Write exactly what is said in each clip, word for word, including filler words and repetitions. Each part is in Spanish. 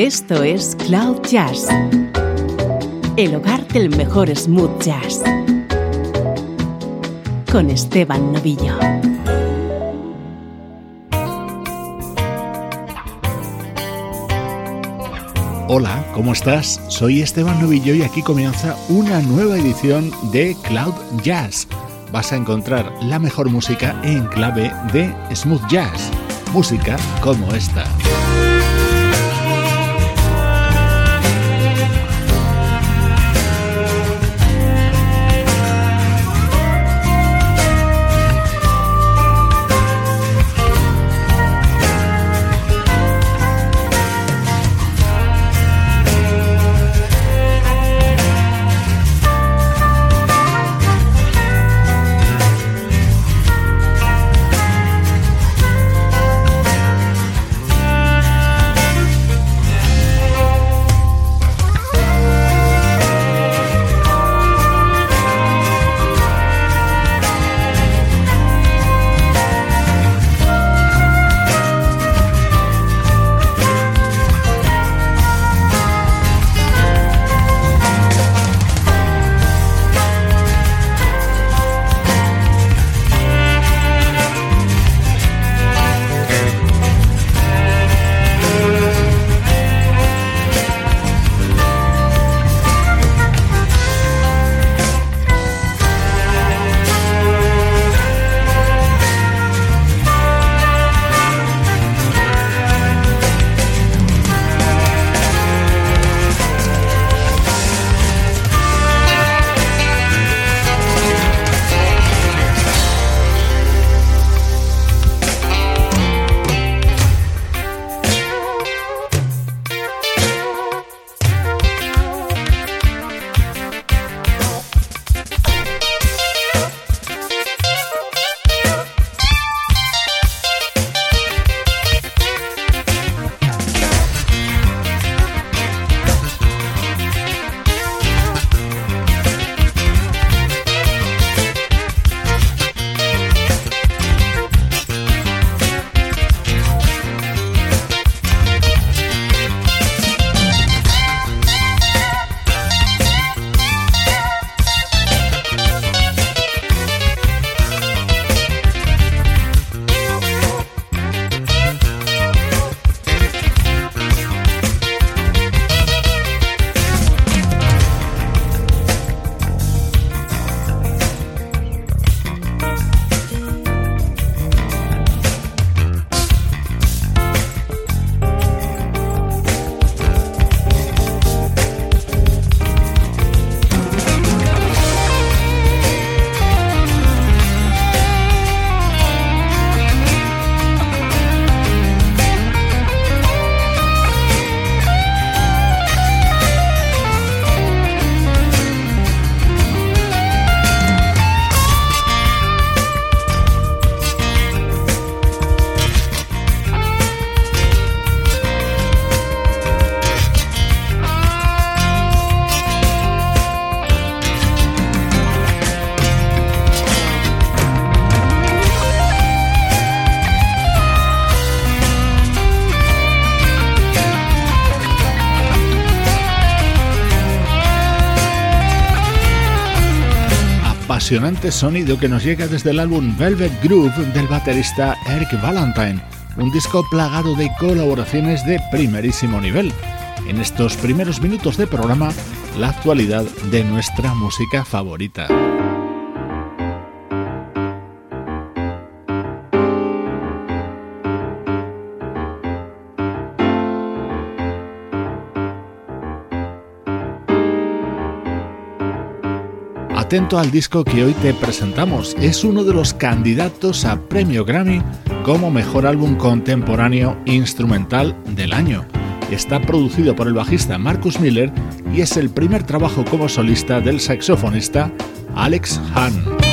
Esto es Cloud Jazz, el hogar del mejor smooth jazz, con Esteban Novillo. Hola, ¿cómo estás? Soy Esteban Novillo y aquí comienza una nueva edición de Cloud Jazz. Vas a encontrar la mejor música en clave de smooth jazz, música como esta. Apasionante sonido que nos llega desde el álbum Velvet Groove del baterista Eric Valentine, un disco plagado de colaboraciones de primerísimo nivel. En estos primeros minutos de programa, la actualidad de nuestra música favorita. Atento al disco que hoy te presentamos, es uno de los candidatos a Premio Grammy como Mejor Álbum Contemporáneo Instrumental del año. Está producido por el bajista Marcus Miller y es el primer trabajo como solista del saxofonista Alex Hahn.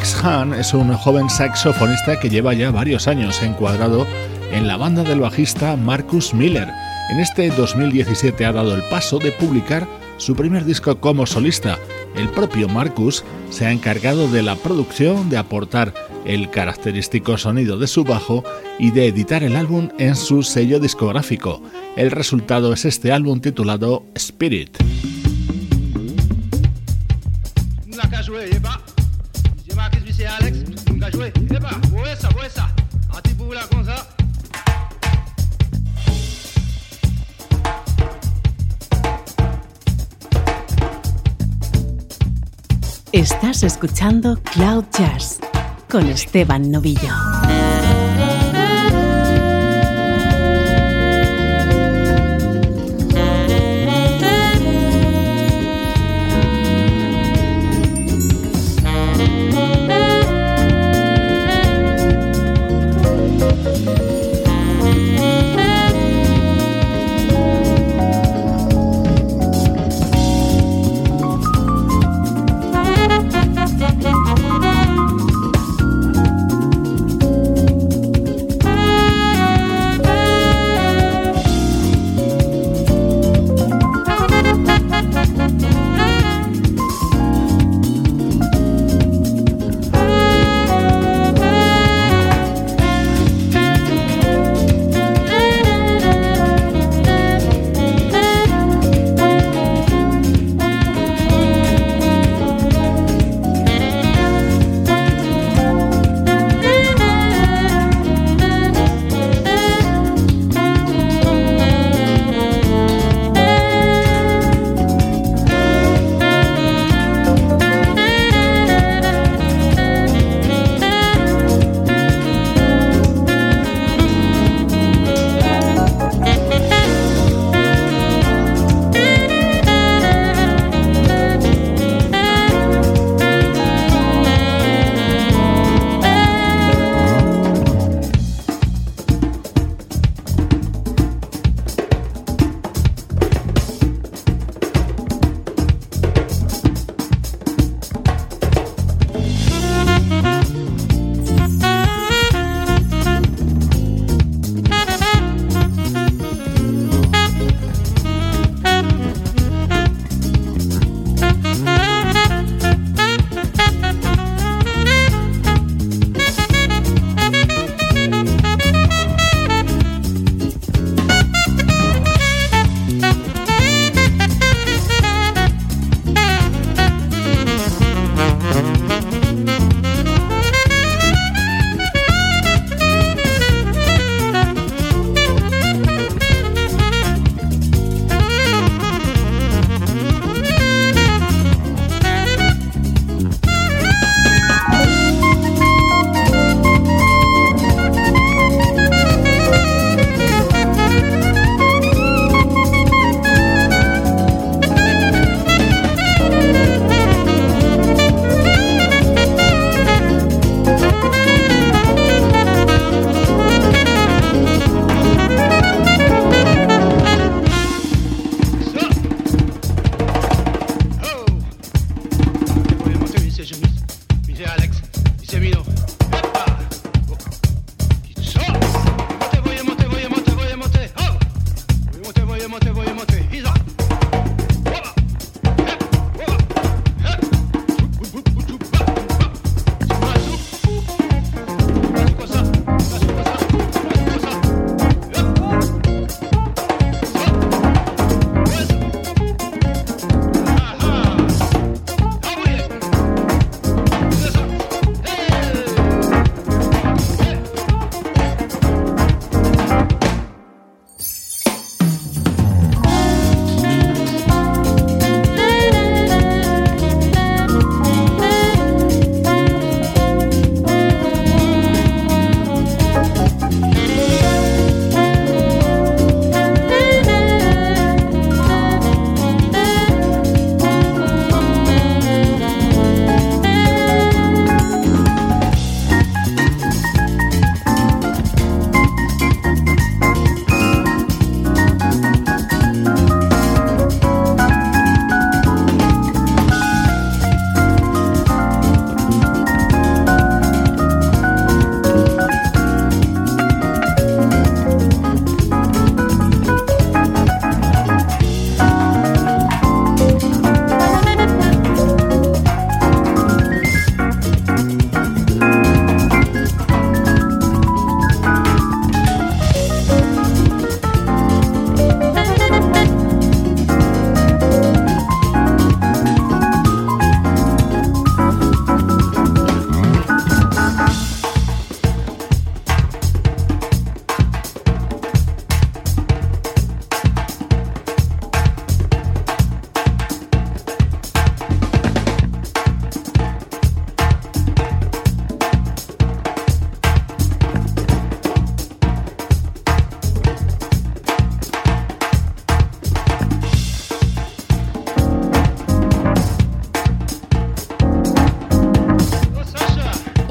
Alex Hahn es un joven saxofonista que lleva ya varios años encuadrado en la banda del bajista Marcus Miller. En este dos mil diecisiete ha dado el paso de publicar su primer disco como solista. El propio Marcus se ha encargado de la producción, de aportar el característico sonido de su bajo y de editar el álbum en su sello discográfico. El resultado es este álbum titulado Spirit. Estás escuchando Cloud Jazz con Esteban Novillo.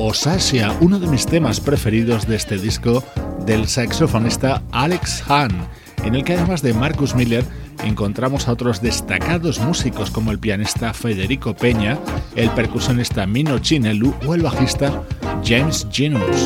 Osasia, uno de mis temas preferidos de este disco del saxofonista Alex Hahn, en el que además de Marcus Miller encontramos a otros destacados músicos como el pianista Federico Peña, el percusionista Mino Chinelu o el bajista James Genus.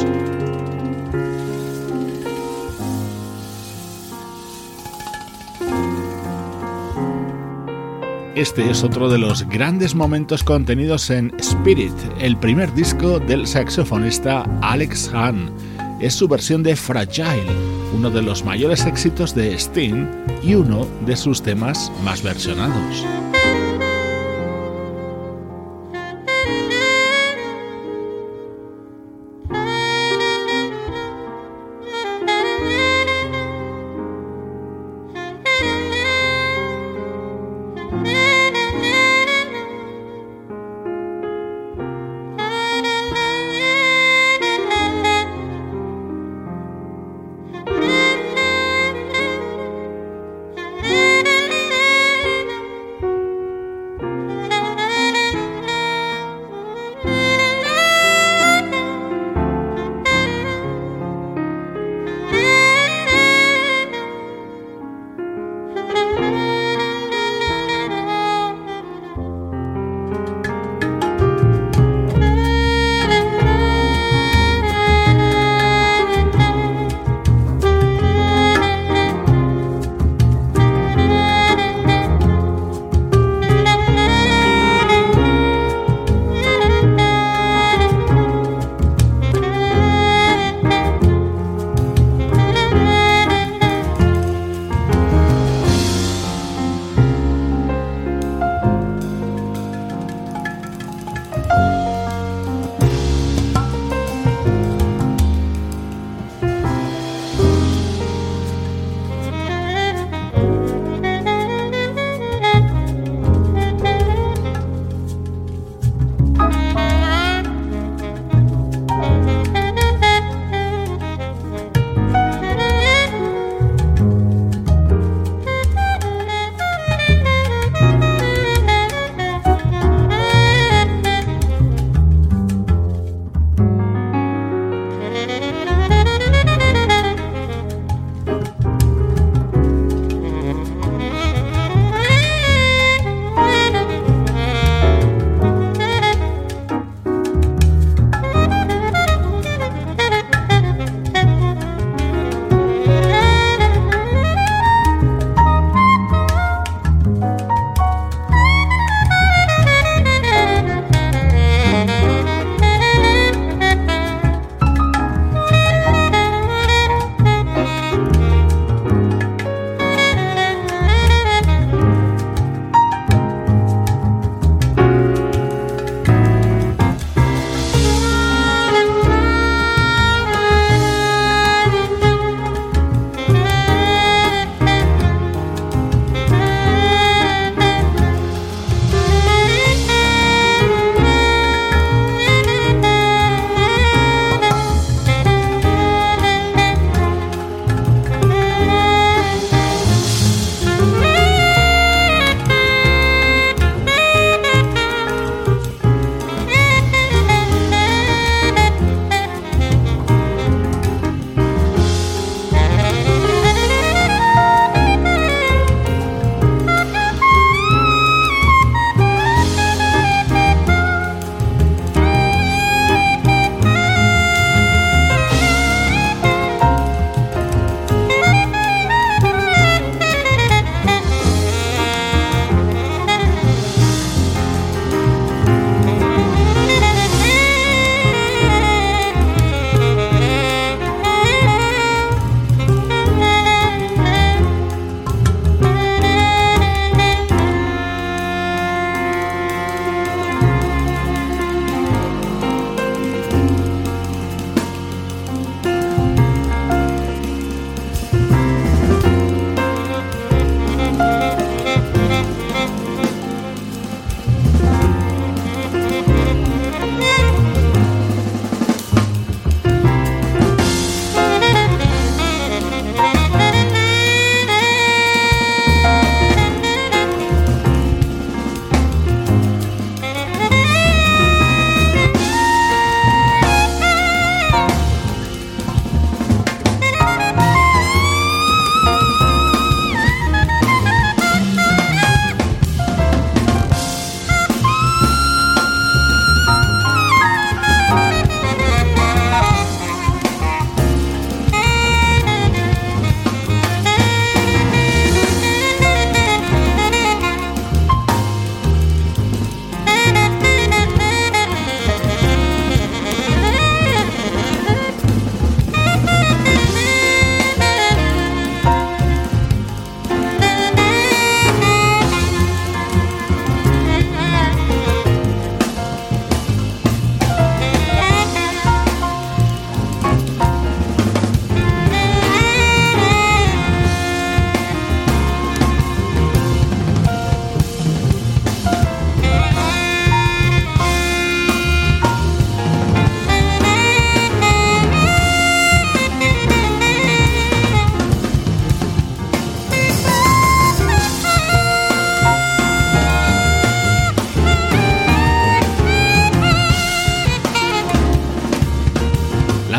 Este es otro de los grandes momentos contenidos en Spirit, el primer disco del saxofonista Alex Hahn. Es su versión de Fragile, uno de los mayores éxitos de Sting y uno de sus temas más versionados.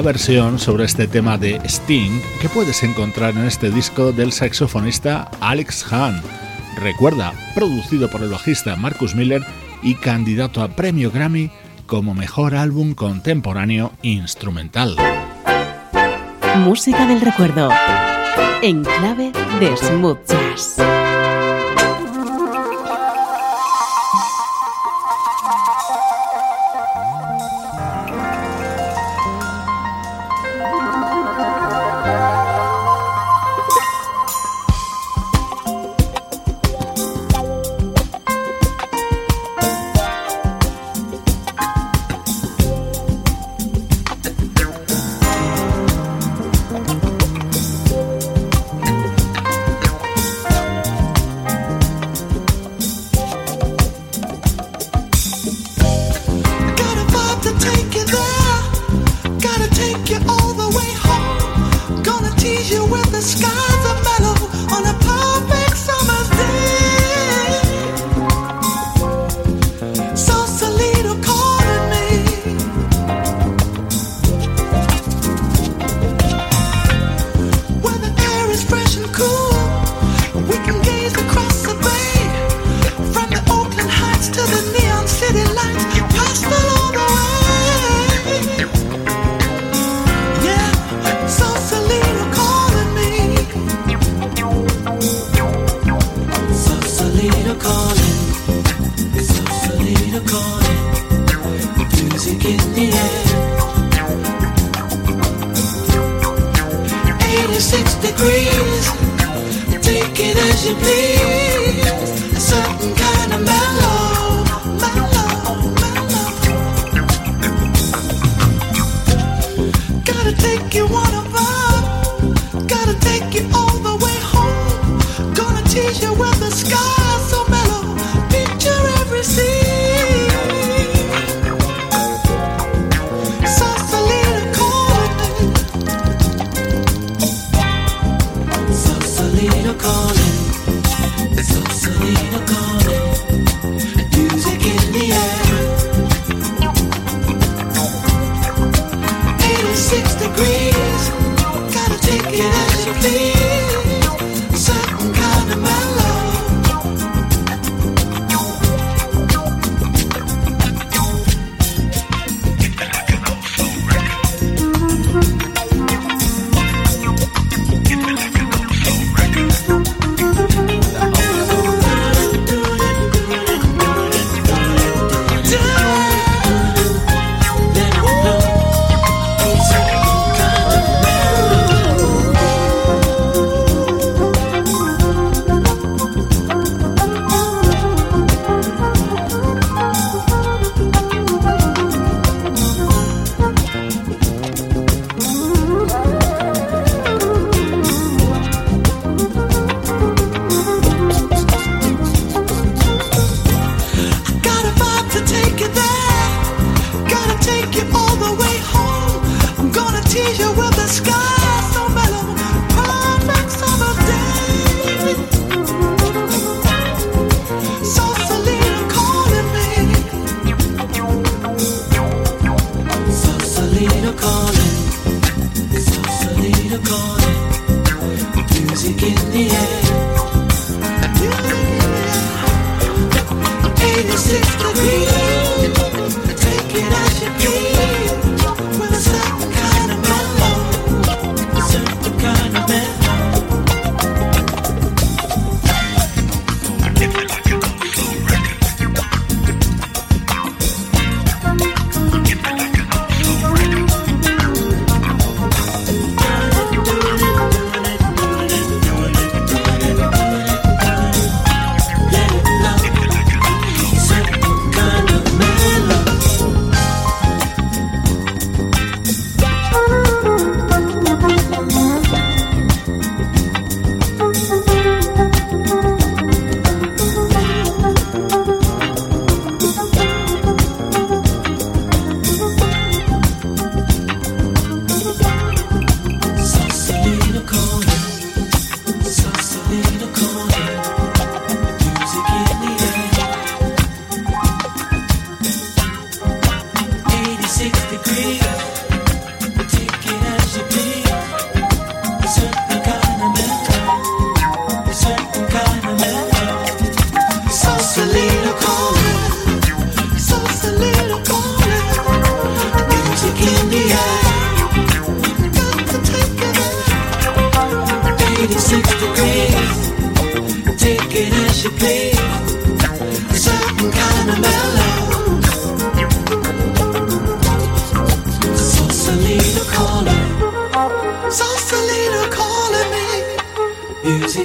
versión sobre este tema de Sting que puedes encontrar en este disco del saxofonista Alex Hahn. Recuerda, producido por el bajista Marcus Miller y candidato a premio Grammy como mejor álbum contemporáneo instrumental. Música del recuerdo, en clave de smooth jazz.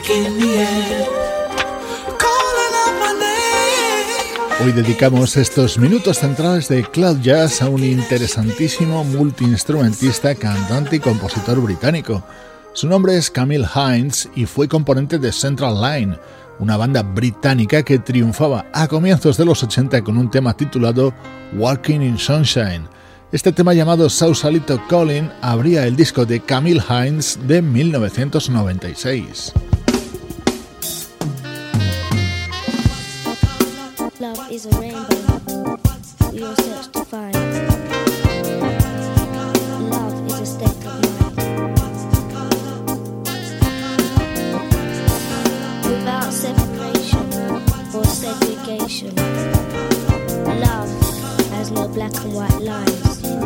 Hoy dedicamos estos minutos centrales de Cloud Jazz a un interesantísimo multiinstrumentista, cantante y compositor británico. Su nombre es Camille Hines y fue componente de Central Line, una banda británica que triunfaba a comienzos de los ochenta con un tema titulado Walking in Sunshine. Este tema llamado Sausalito Calling abría el disco de Camille Hines de mil novecientos noventa y seis. Love is a rainbow, we all search to find. Love is a state of mind. Without separation or segregation, love has no black and white lines.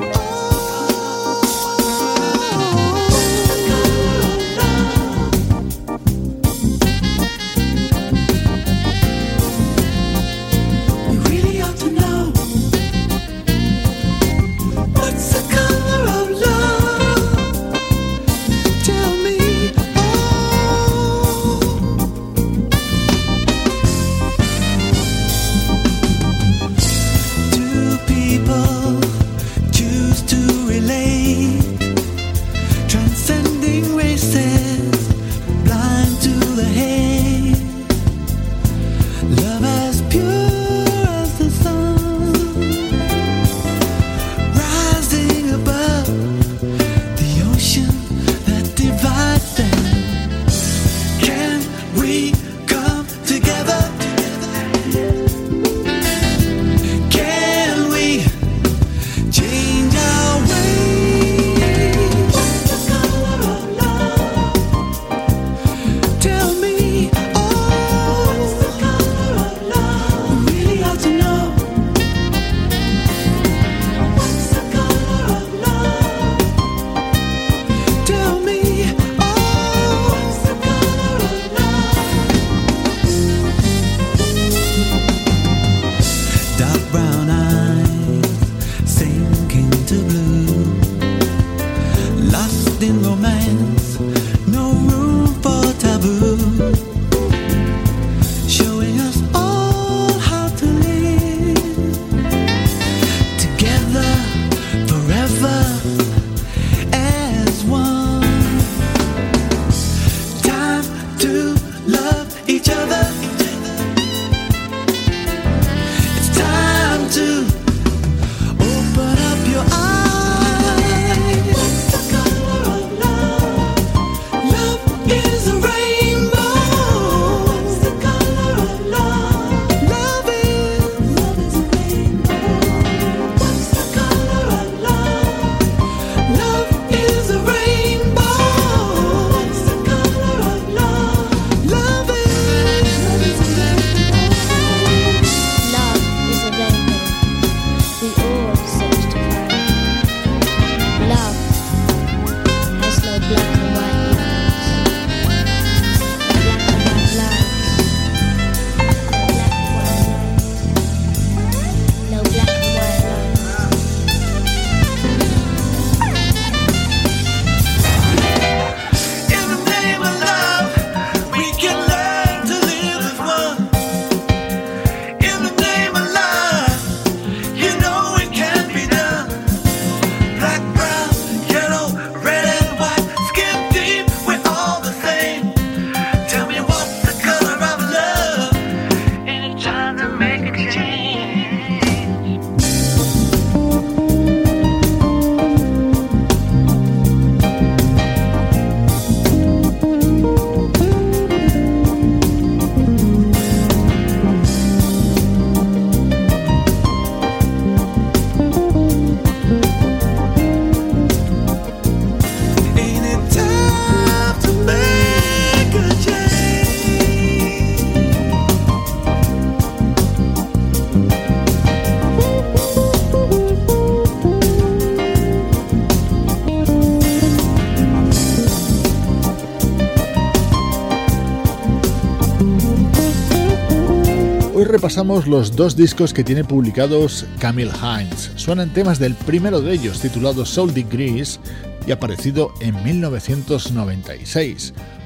Hoy repasamos los dos discos que tiene publicados Camille Hines. Suenan temas del primero de ellos, titulado Soul Degrees y aparecido en mil novecientos noventa y seis.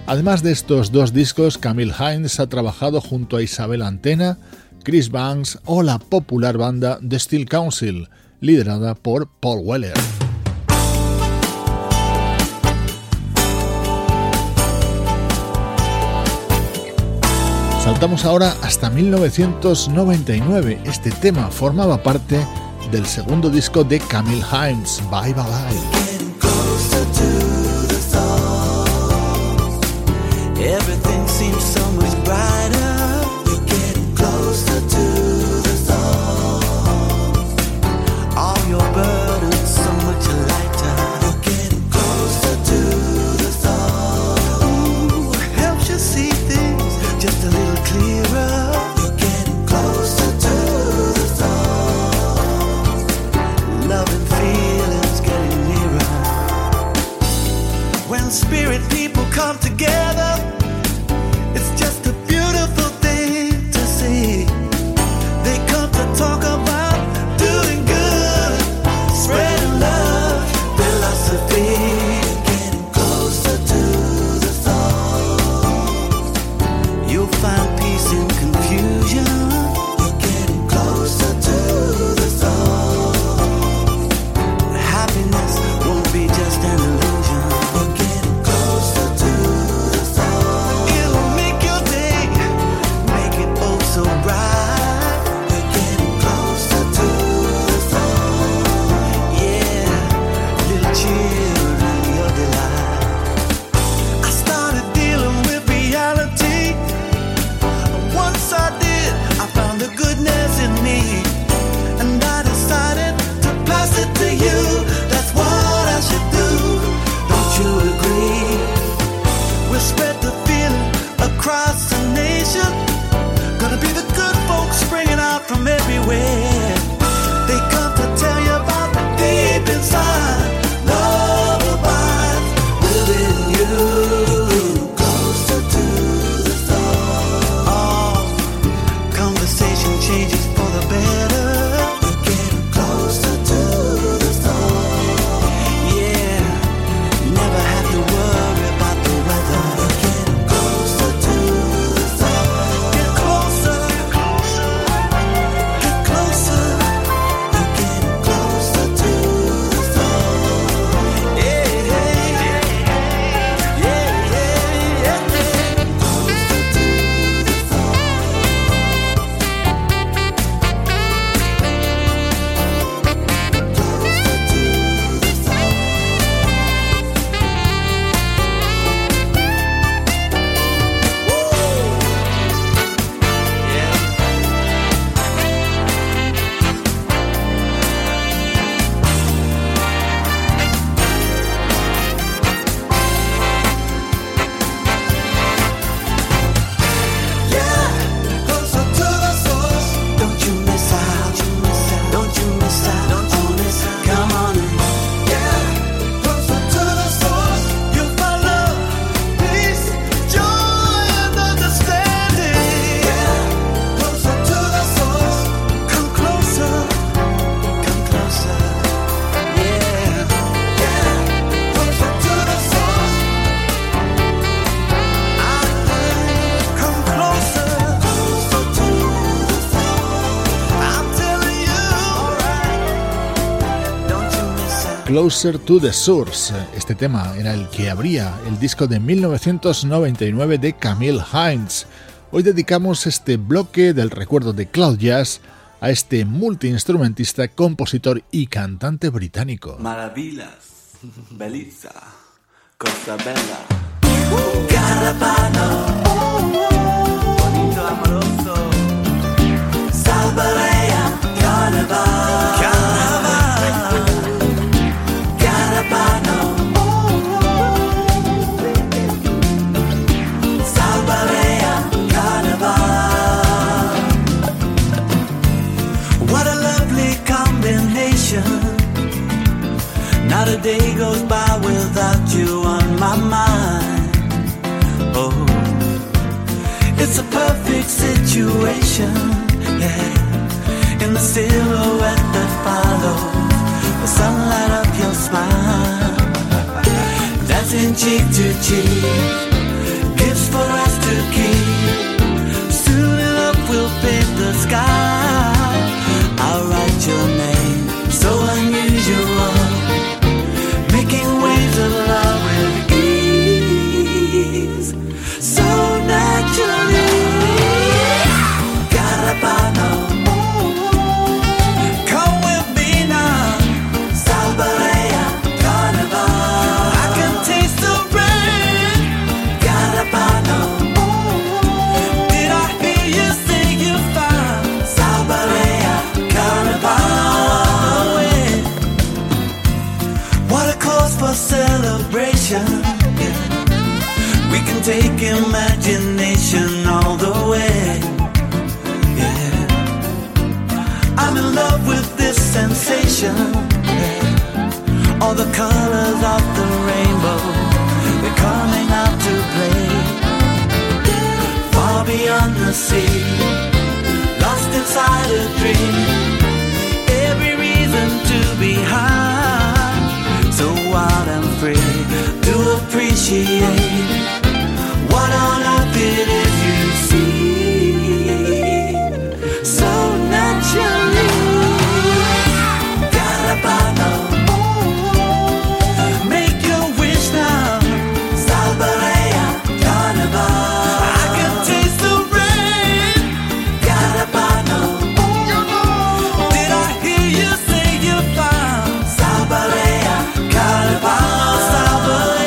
Además de estos dos discos, Camille Hines ha trabajado junto a Isabel Antena, Chris Banks o la popular banda The Steel Council, liderada por Paul Weller. Saltamos ahora hasta mil novecientos noventa y nueve. Este tema formaba parte del segundo disco de Camille Hines, Bye Bye Bye. Everything seems so much brighter. We're getting closer to the source. All your burdens so much lighter. We're getting closer to the source. Ooh, helps you see things just a little clearer. We're getting closer to the source. Love and feelings getting nearer. When spirit people come together, it's just a beautiful thing to see. They come to talk about doing good, spreading love, philosophy. Getting closer to the soul. You'll find peace in confusion. We're getting closer to the soul. Happiness won't be just an illusion. We're getting closer to the soul. It'll make your day, make it oh so bright. We're getting closer to the soul. Yeah, little children, your delight. I started dealing with reality. Once I did, I found the goodness in me, and I decided to pass it to you. That's what I should do. Don't you agree? We'll spread the feeling across the nation. Gonna be the good folks springing out from everywhere. They come to tell you about deep inside. Love abides within you. Closer to the soul. Oh, conversation changes for the better. We're getting closer to the soul. Yeah, never have to worry about the weather. We're getting closer to the soul. Get closer, get closer, get closer. We're getting closer to the soul. Yeah, yeah, yeah, yeah, yeah. Closer to the soul. Closer to the Source. Este tema era el que abría el disco de mil novecientos noventa y nueve de Camille Hines. Hoy dedicamos este bloque del recuerdo de Cloud Jazz a este multiinstrumentista, compositor y cantante británico. Maravillas, bellezza, cosa bella. Carapano, bonito, amoroso. Salvarea, carnaval, carnaval. Carapano, Salvarea, carnaval. What a lovely combination. Not a day goes by without you on my mind. Oh, it's a perfect situation, yeah. In the silhouette that follows the sunlight of your smile, dancing cheek to cheek, for celebration. Yeah. We can take imagination all the way. Yeah. I'm in love with this sensation. Yeah. All the colors of the rainbow, they're coming out to play. Far beyond the sea, lost inside a dream. Every reason to be high, so wild and free. To appreciate what on earth it is you see. So naturally, Carabano, make your wish now. Salbalea, Carnival. I can taste the rain. Carabano, did I hear you say you found Salbalea, Carnival, Salbalea.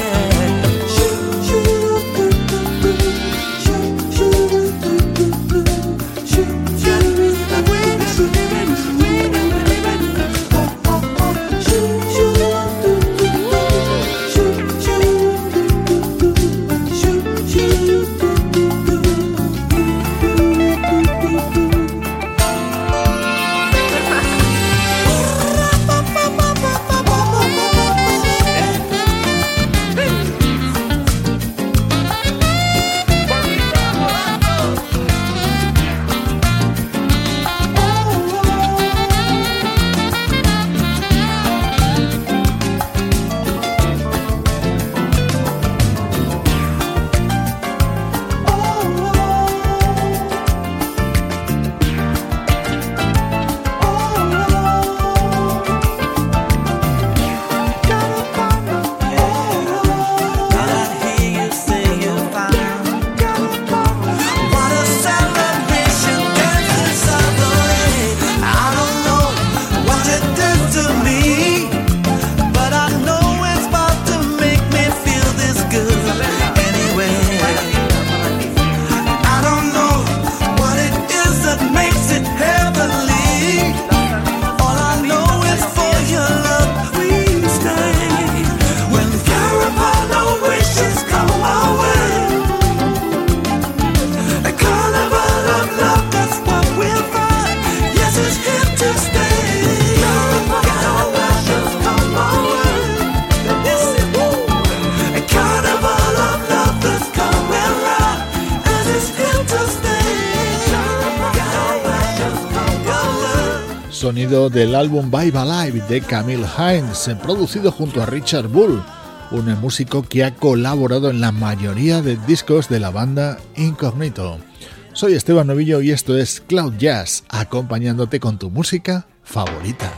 Sonido del álbum Vibe Alive de Camille Hines, producido junto a Richard Bull, un músico que ha colaborado en la mayoría de discos de la banda Incognito. Soy Esteban Novillo y esto es Cloud Jazz, acompañándote con tu música favorita.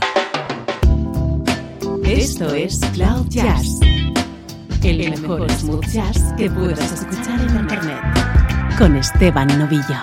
Esto es Cloud Jazz, el mejor smooth jazz que puedas escuchar en internet, con Esteban Novillo.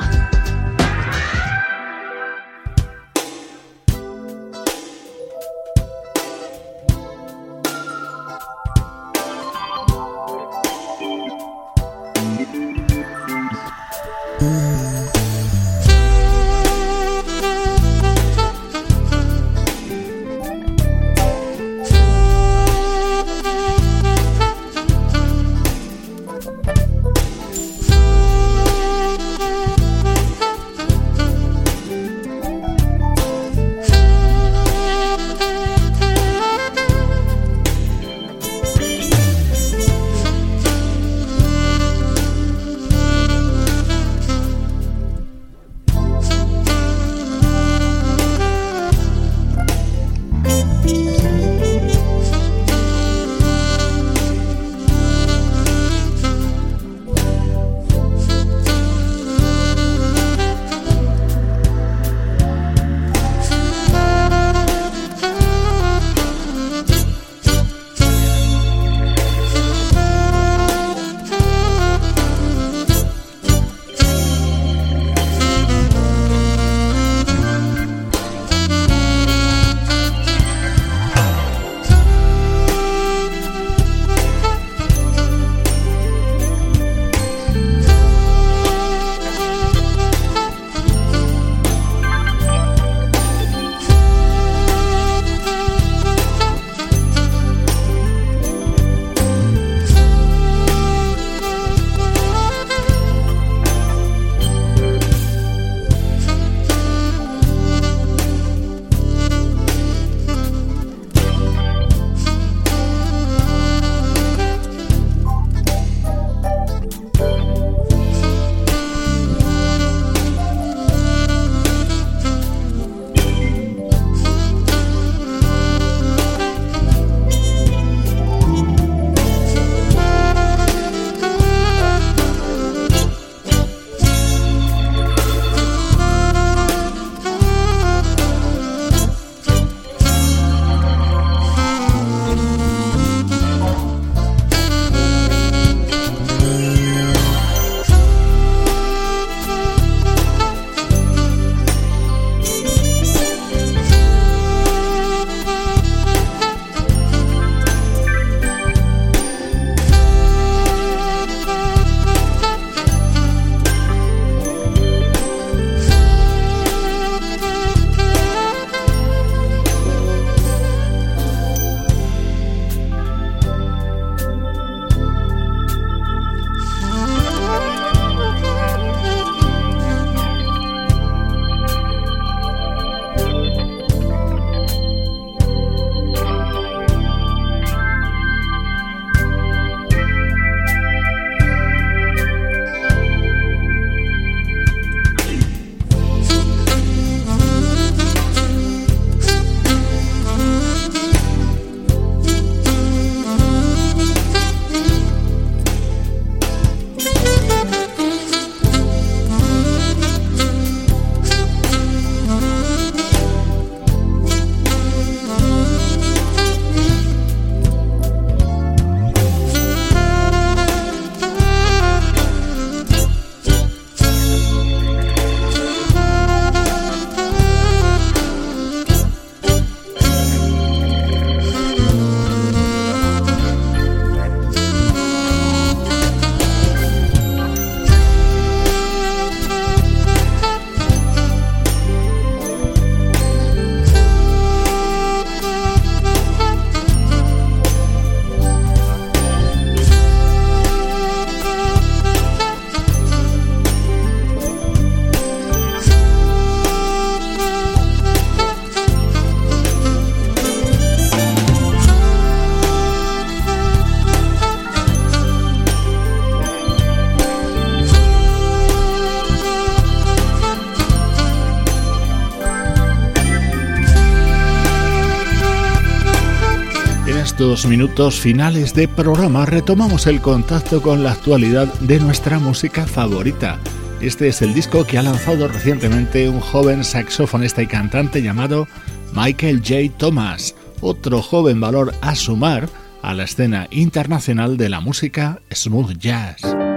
estos minutos finales de programa retomamos el contacto con la actualidad de nuestra música favorita. Este es el disco que ha lanzado recientemente un joven saxofonista y cantante llamado Michael J. Thomas, otro joven valor a sumar a la escena internacional de la música smooth jazz.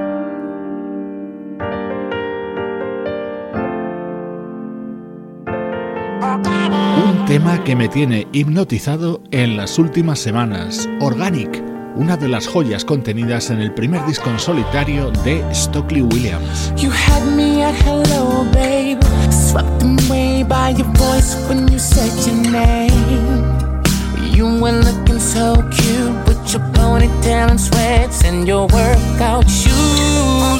Un tema que me tiene hipnotizado en las últimas semanas, Organic, una de las joyas contenidas en el primer disco en solitario de Stokely Williams. You had me at hello, babe, swept away by your voice when you said your name. You were looking so cute with your ponytail and sweats and your workout shoes.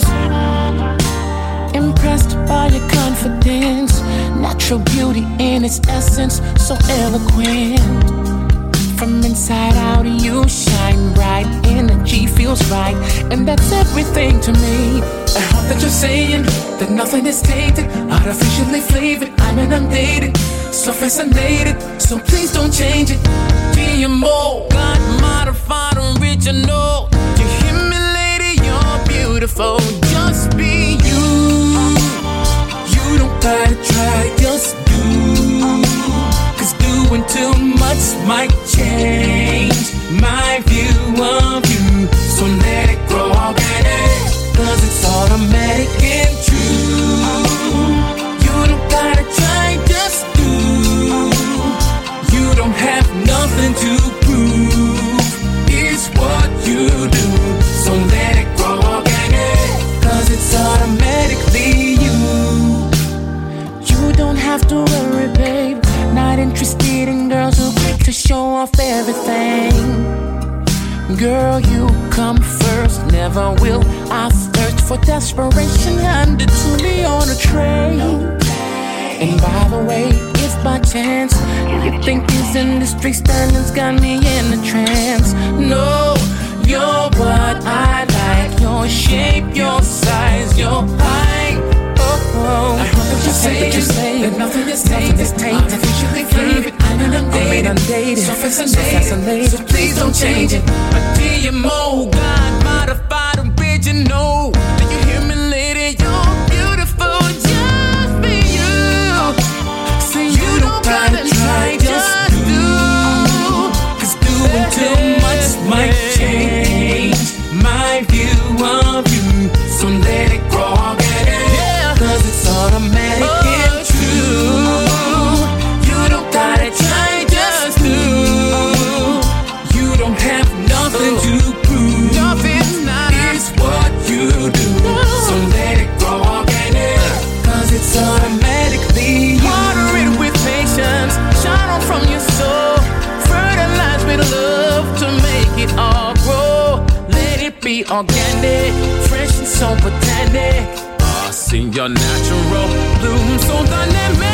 Impressed by your confidence, natural beauty in its essence, so eloquent. From inside out you shine bright, energy feels right, and that's everything to me. I hope that you're saying that nothing is tainted, artificially flavored, I'm inundated, so fascinated, so please don't change it. G M O, God modified original. You hear me, lady, you're beautiful, just be you. You don't gotta try, just do. Cause doing too much might change my view of you. So let it grow organic, cause it's automatic and true. You don't gotta try, just do. You don't have nothing to prove, it's what you do. So let it grow organic, cause it's automatically you. You don't have to worry, babe, not interested in girls who quick to show off everything. Girl, you come first, never will I thirst for desperation handed to me on a tray. And by the way, if by chance you think these industry standards got me in a trance, no, you're what I like, your shape, your size, your height. Oh, I hope that you're saying that nothing is tainted, artificially flavored, I'm inundated, so fascinated, so please don't change it. A G M O, God modified original. Do you hear me, lady? You're beautiful, just be you. See, you don't gotta try, just do. Cause doing too much might change my view of you. So let it grow organic, cause it's automatic oh, and true. You don't gotta try, just do. You don't have nothing to prove, nothing, not it's what you do. No. So let it grow organic, cause it's automatically you. Water it with patience, shine on from your soul, fertilize with love to make it all grow. Let it be organic, fresh and so botanic. See your natural bloom so dynamic,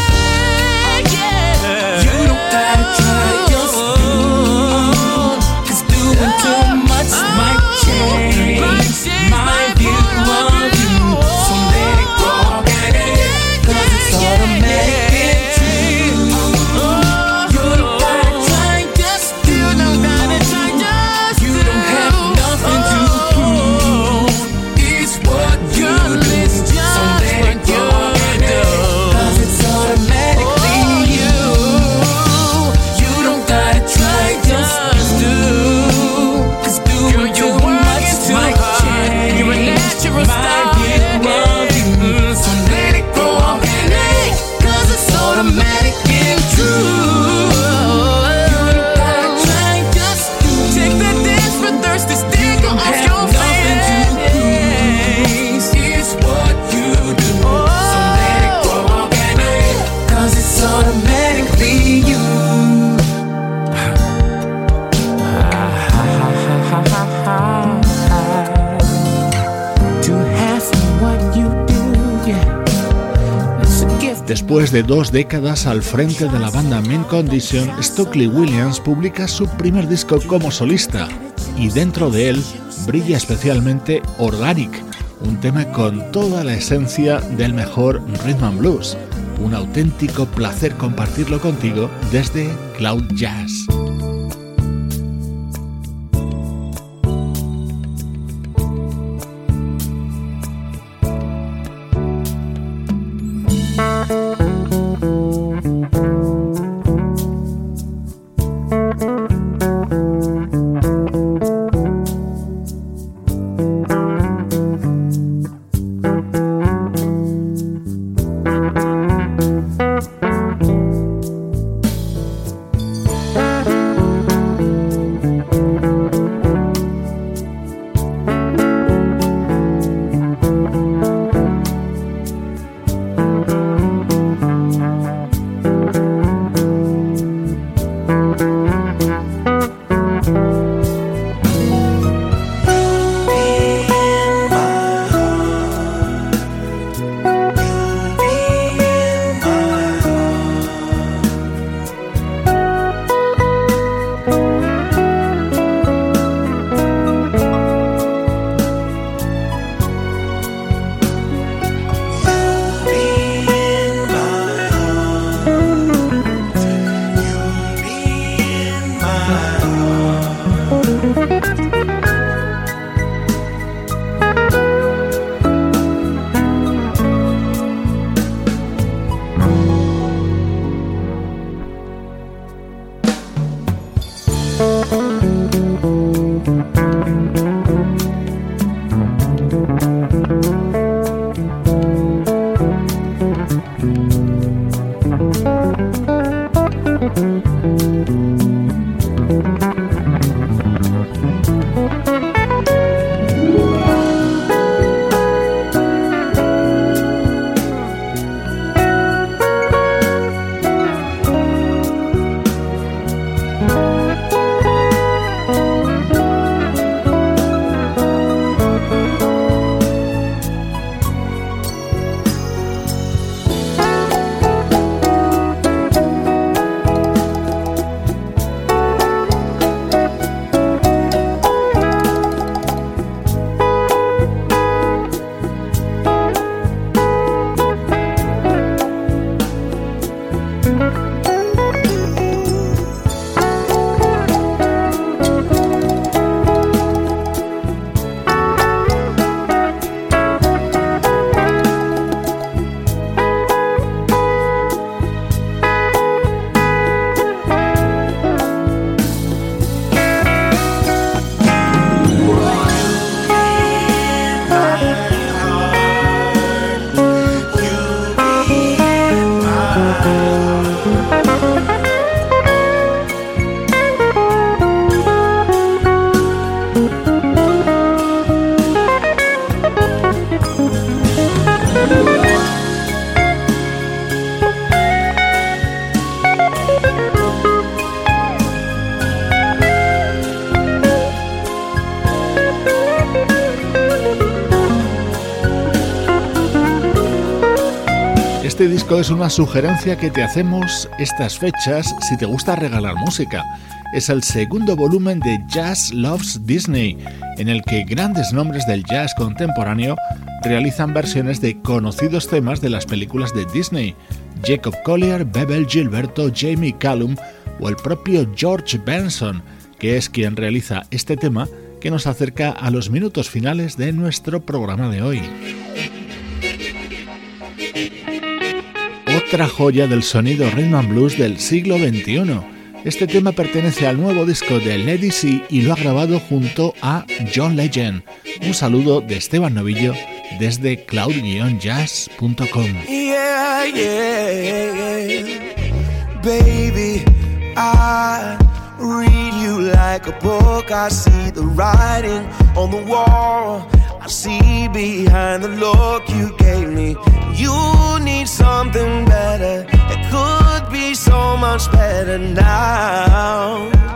yeah. You don't gotta try, just do. Cause doing too much might change my view of you. So let it grow organic, cause it's automatic and true. You don't gotta try, just do. You don't gotta try, just do. You don't have nothing to prove, it's what you do. Después de dos décadas al frente de la banda Mint Condition, Stokely Williams publica su primer disco como solista y dentro de él brilla especialmente Organic, un tema con toda la esencia del mejor rhythm and blues. Un auténtico placer compartirlo contigo desde Cloud Jazz. Este disco es una sugerencia que te hacemos estas fechas si te gusta regalar música. Es el segundo volumen de Jazz Loves Disney, en el que grandes nombres del jazz contemporáneo realizan versiones de conocidos temas de las películas de Disney. Jacob Collier, Bebel Gilberto, Jamie Cullum o el propio George Benson, que es quien realiza este tema que nos acerca a los minutos finales de nuestro programa de hoy. Otra joya del sonido rhythm and blues del siglo veintiuno. Este tema pertenece al nuevo disco de Lady C y lo ha grabado junto a John Legend. Un saludo de Esteban Novillo desde cloud guion jazz punto com. Yeah, yeah, yeah. Baby, I read you like a book. I see the writing on the wall. I see behind the look you gave me. You need something better. It could be so much better now.